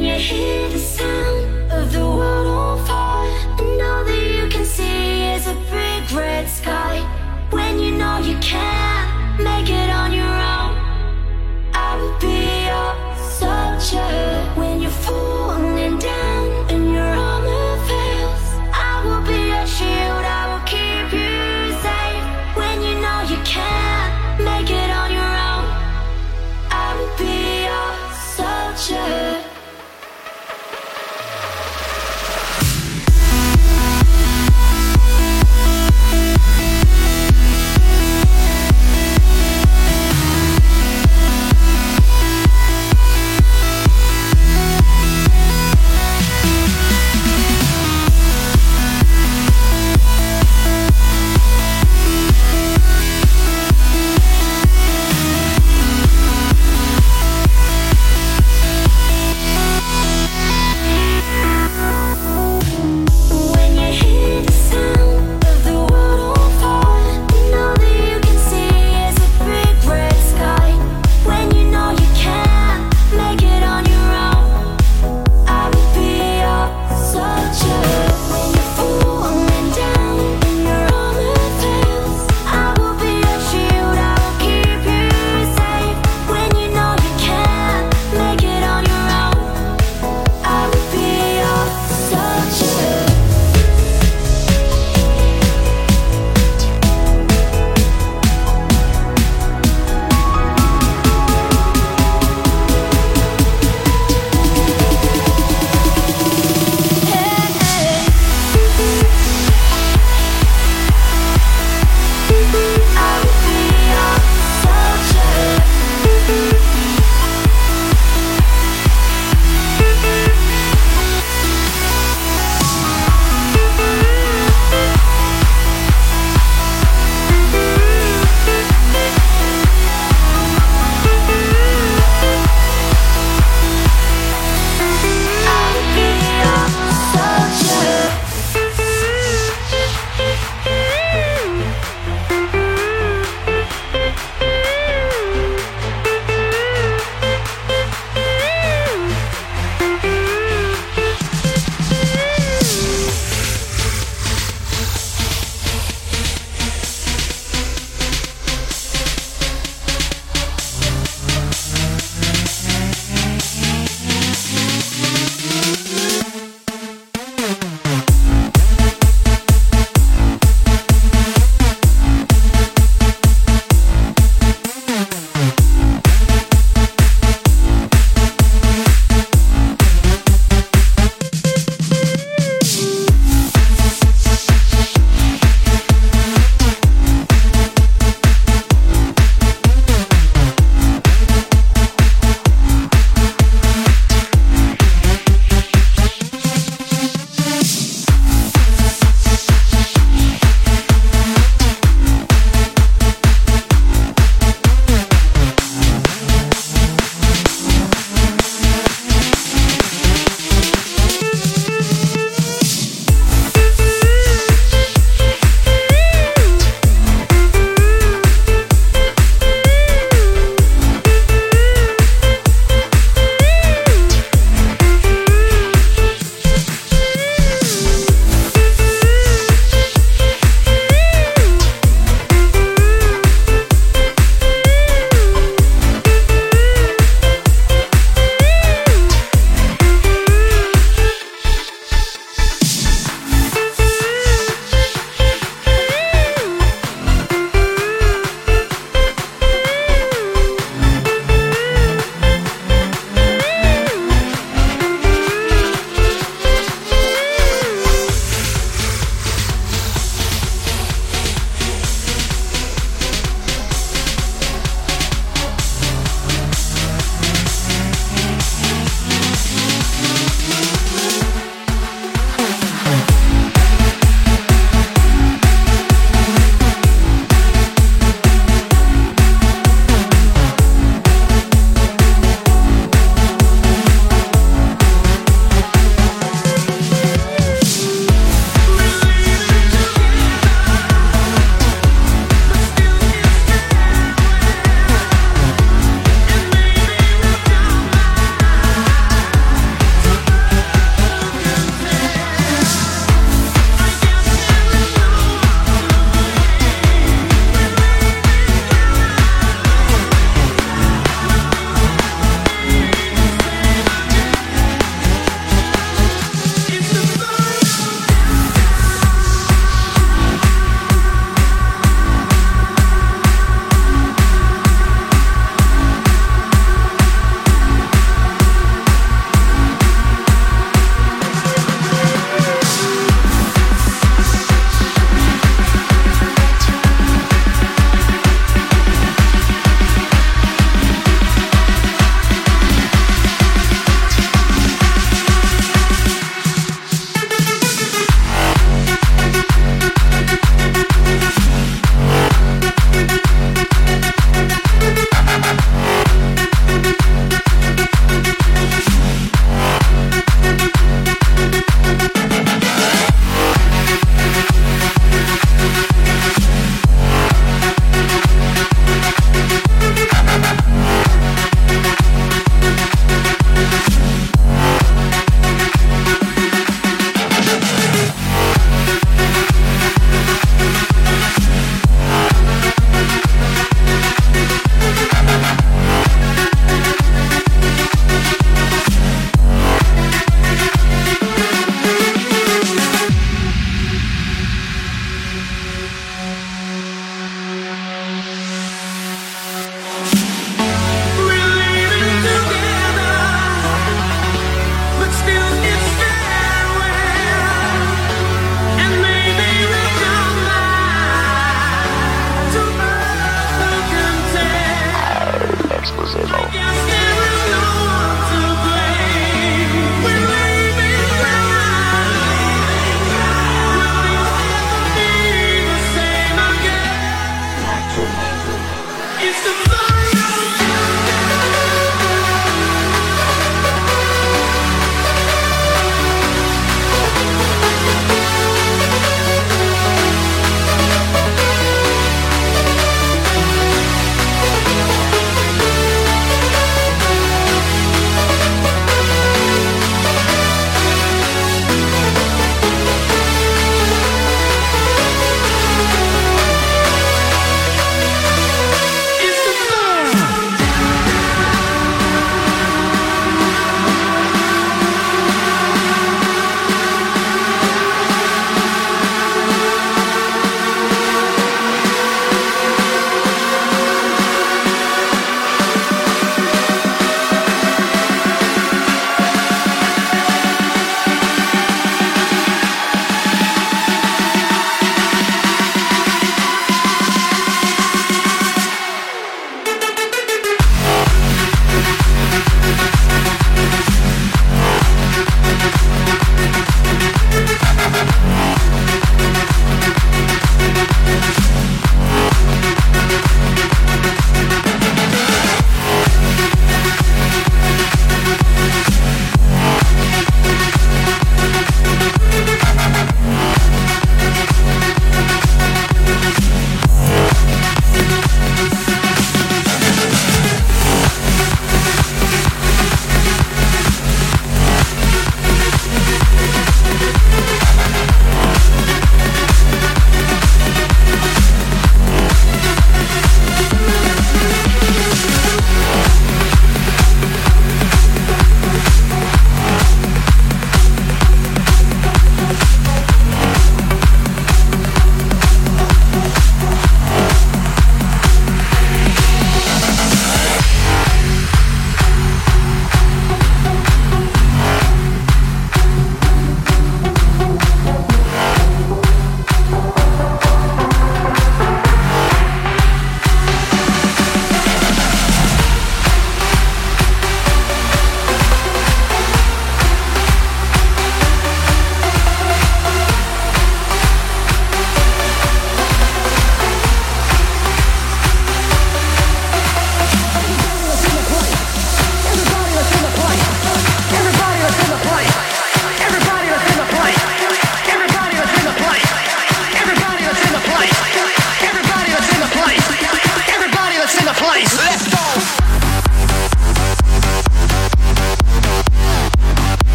you hear the sound of the world on fire, and all that you can see is a big red sky. When you know you can't make it on your own, I will be your soldier. When you're falling down and your armor fails, I will be your shield, I will keep you safe. When you know you can't make it on your own, I will be your soldier.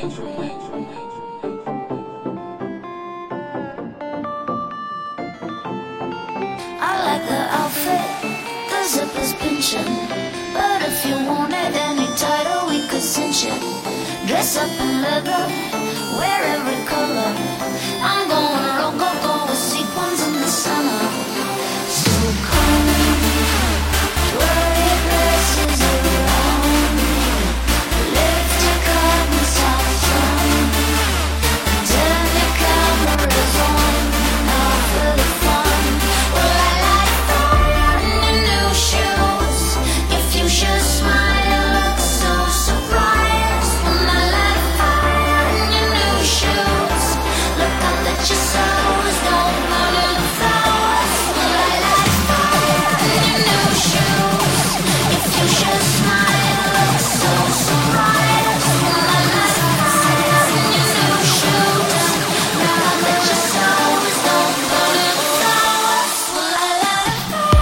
I like the outfit, the zip is pinching. But if you want it any tighter, we could cinch it. Dress up in leather, wear every color. I'm going rococo with sequins in the center. So come, twirl your dresses around. Lift your curtains out front. Turn your cameras on, now for the fun. Well, I like fire in your new shoes. Your fuchsia smile looks so surprised. Well, I like fire in your new shoes. Look up at your soles, don't burn in the flowers. Well, I like fire in your new shoes. Your fuchsia smile looks so surprised. Well, I like fire in your new shoes. Look up at your soles, don't burn in the flowers. Well, I like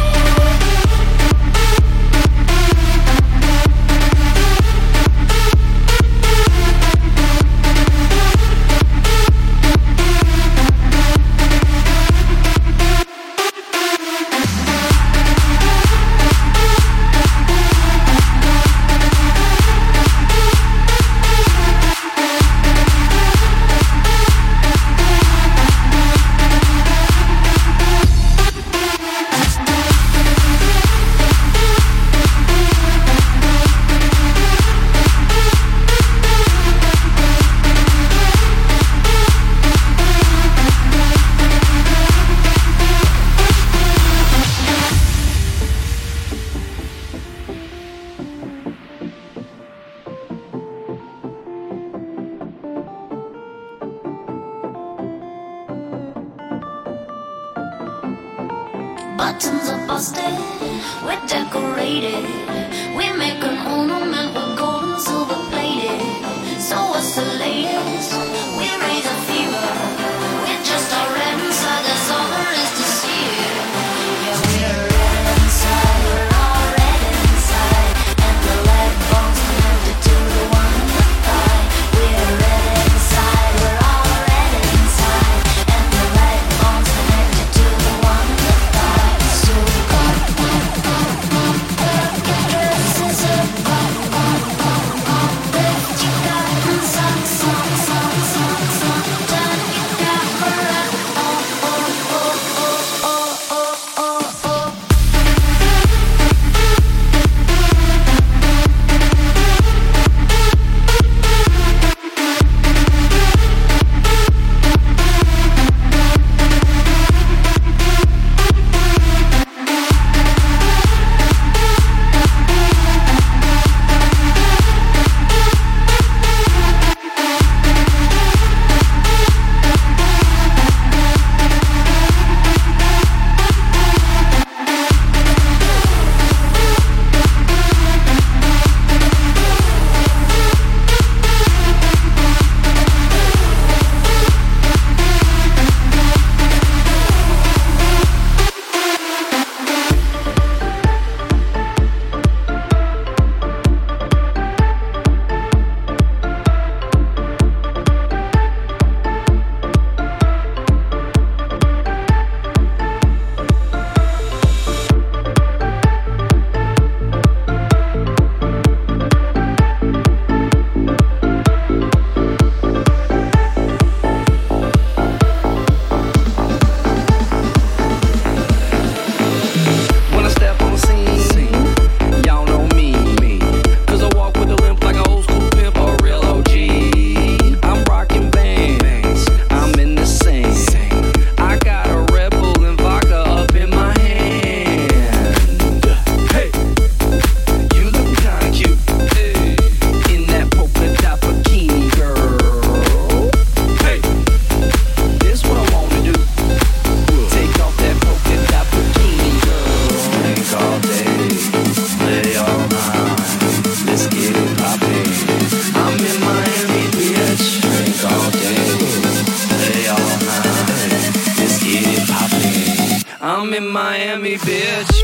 buttons are busted, we're decorated. We make an ornament with gold and silver plated. So what's the latest? We raise a fever. We're just all red inside, that's all there is to see it. Yeah, we're red inside, we're all red inside. And the leg bone's connected to the one in the thigh. We're red inside, we're all red inside. And the leg bone's connected to the one in the thigh. So come, dresses up, lift your curtains up, turn your camera on, I'm in Miami, bitch.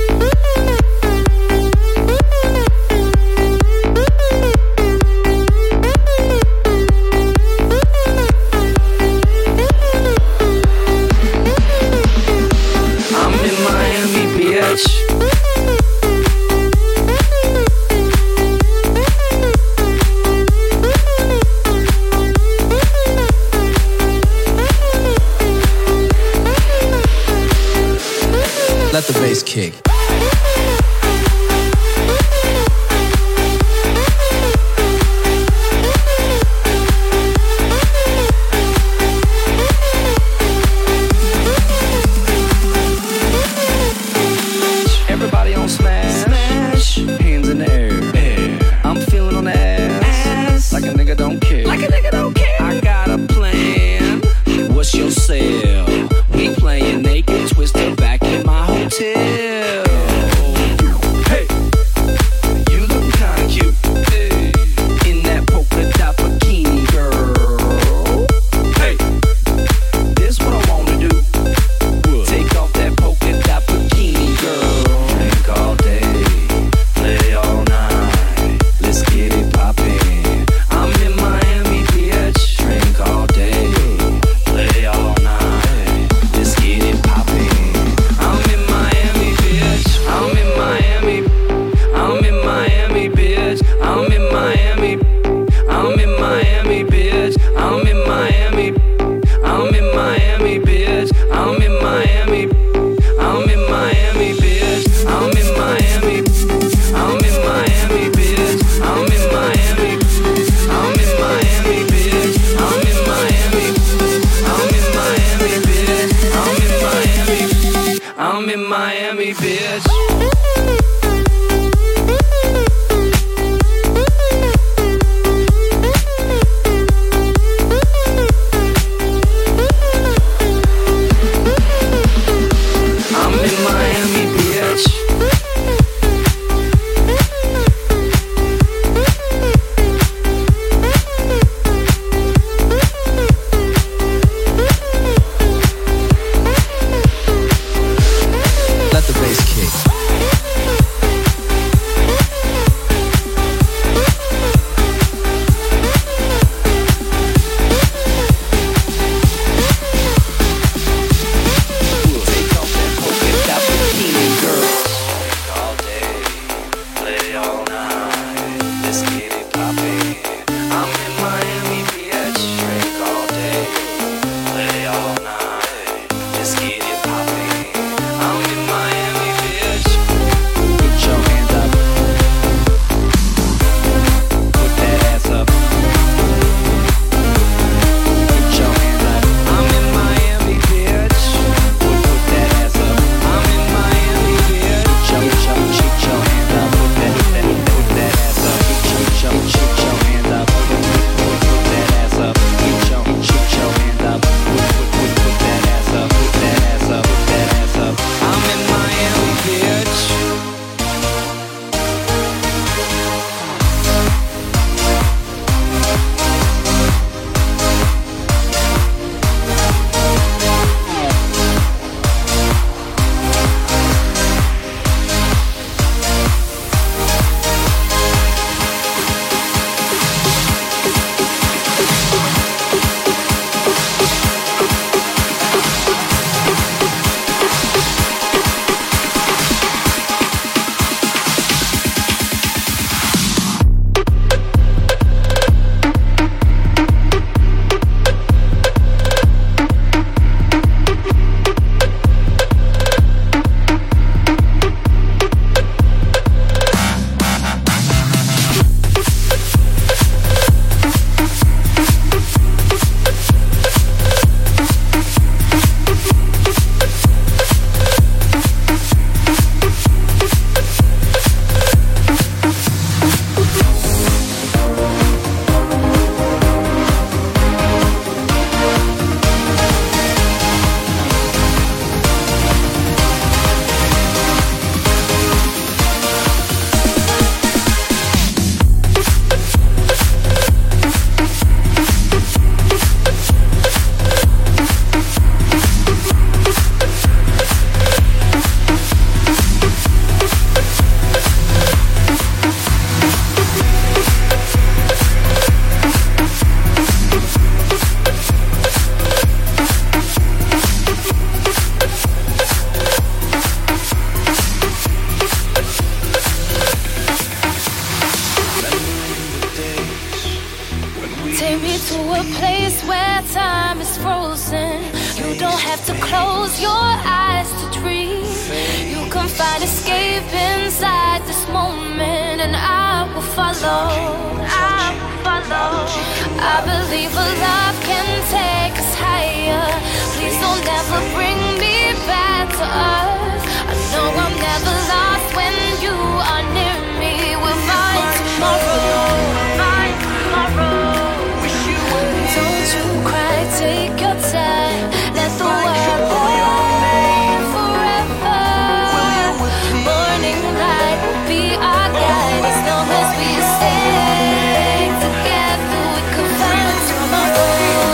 a place where time is frozen. You don't have to close your eyes to dream. You can find escape inside this moment, and I will follow. I will follow. I believe a love can take us higher. Please don't ever bring me back to earth. I know I'm never lost when you are near me. We'll find tomorrow. Find tomorrow. Don't you cry, take your time. Let the world burn forever. Morning light will be our guide. As long as we stay together, we can find tomorrow.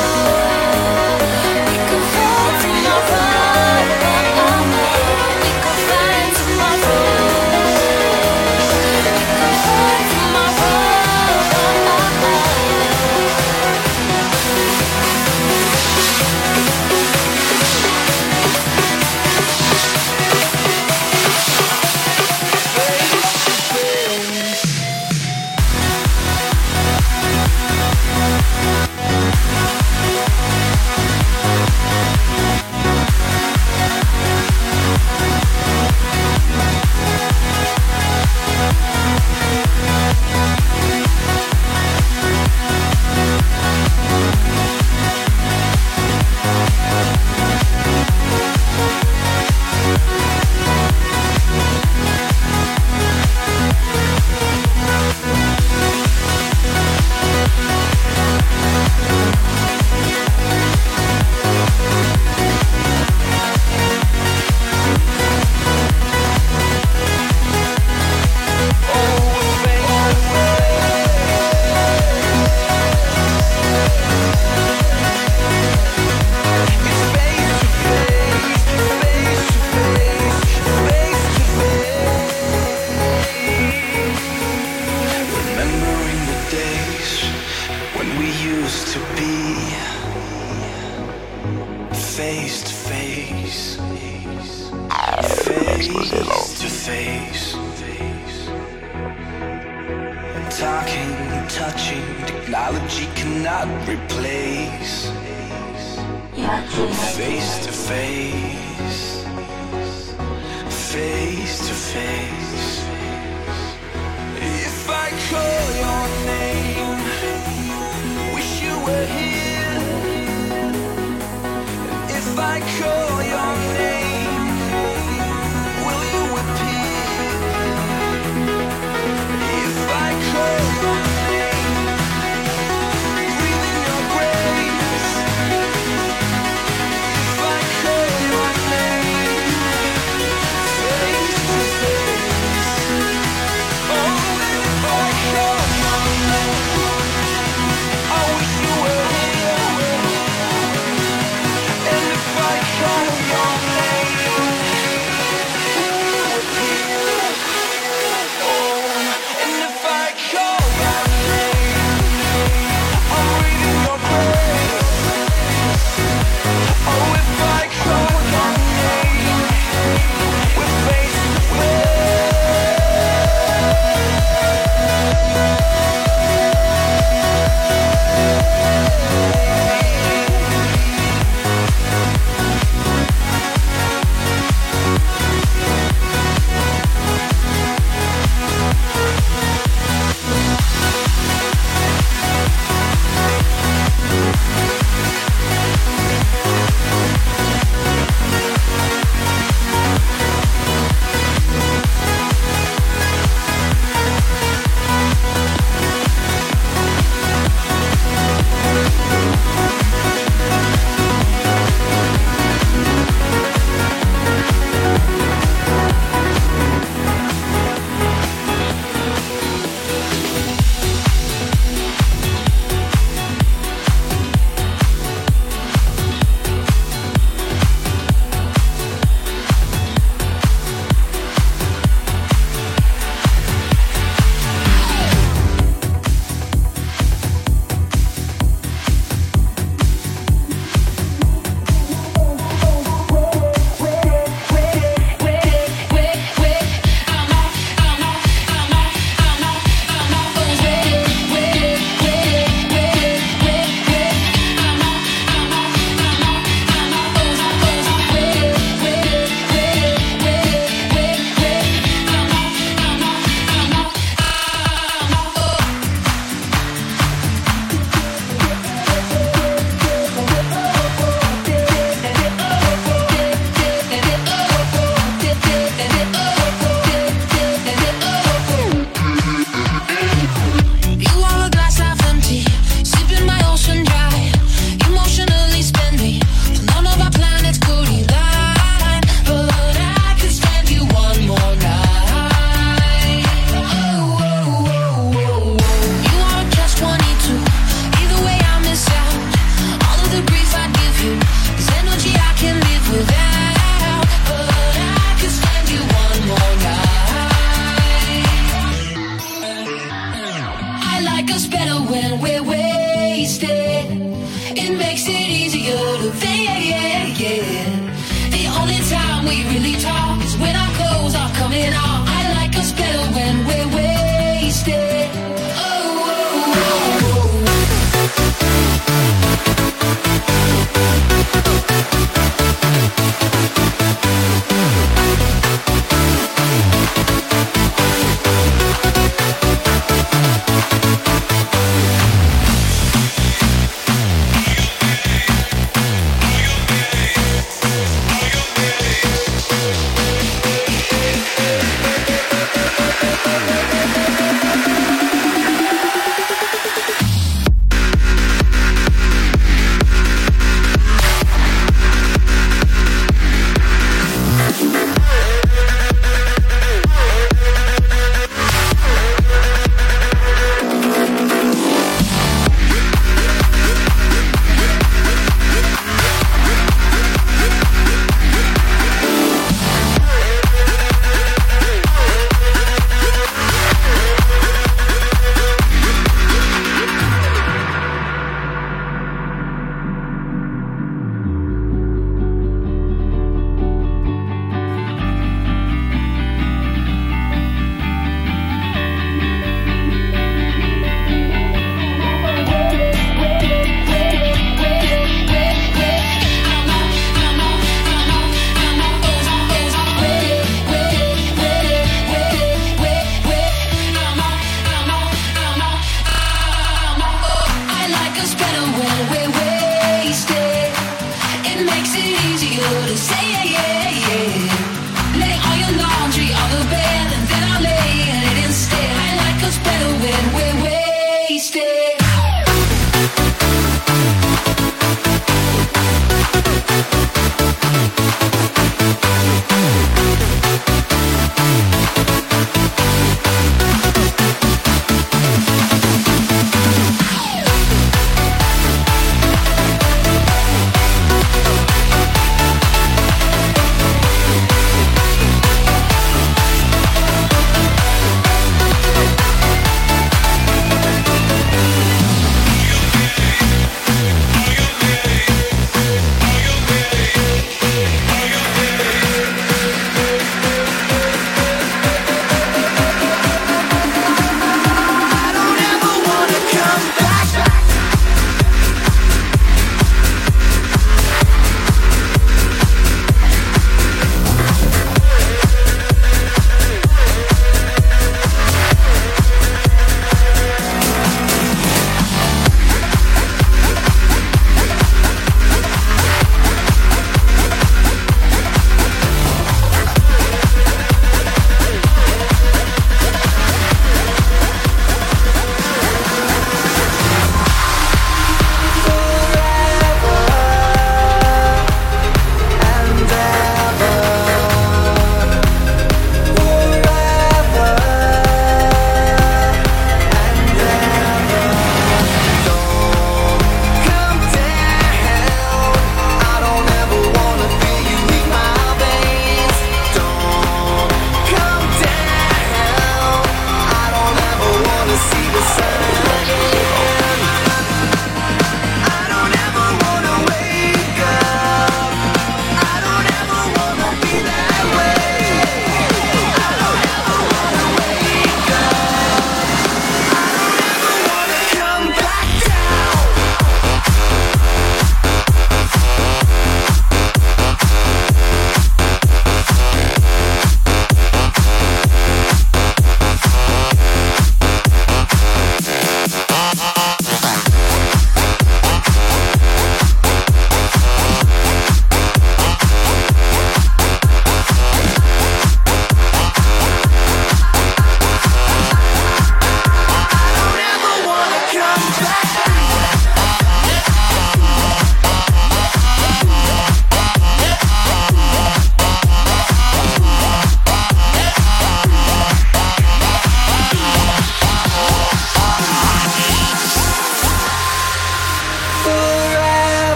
We can find tomorrow. We can find tomorrow. We can find tomorrow. Face to face. when we're wasted. It makes it easier to think. The only time we really talk is when our clothes are coming off. I like us better when we're wasted.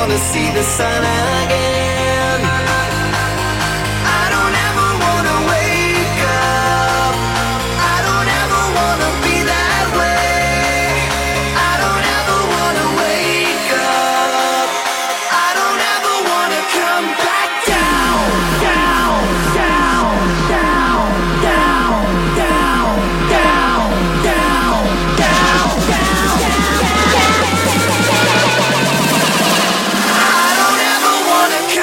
wanna see the sun again. I don't ever wanna wake up. I don't ever wanna be that way. I don't ever wanna wake up. I don't ever wanna come back down, down, down, down, down, down, down, down, down, down, down. I don't ever wanna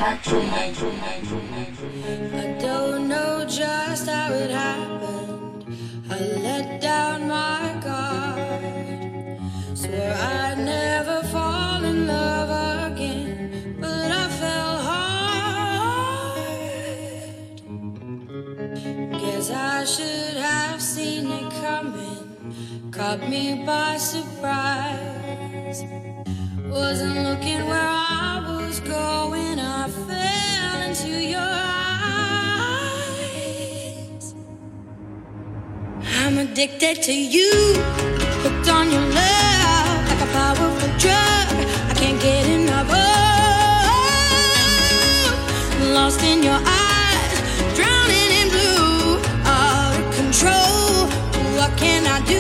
I don't know just how it happened. I let down my guard. Swore I'd never fall in love again, but I fell hard. Guess I should have seen it coming. Caught me by surprise. Wasn't looking where I was going. I fell into your eyes. I'm addicted to you, hooked on your love like a powerful drug. I can't get enough of. Lost in your eyes, drowning in blue, out of control. What can I do?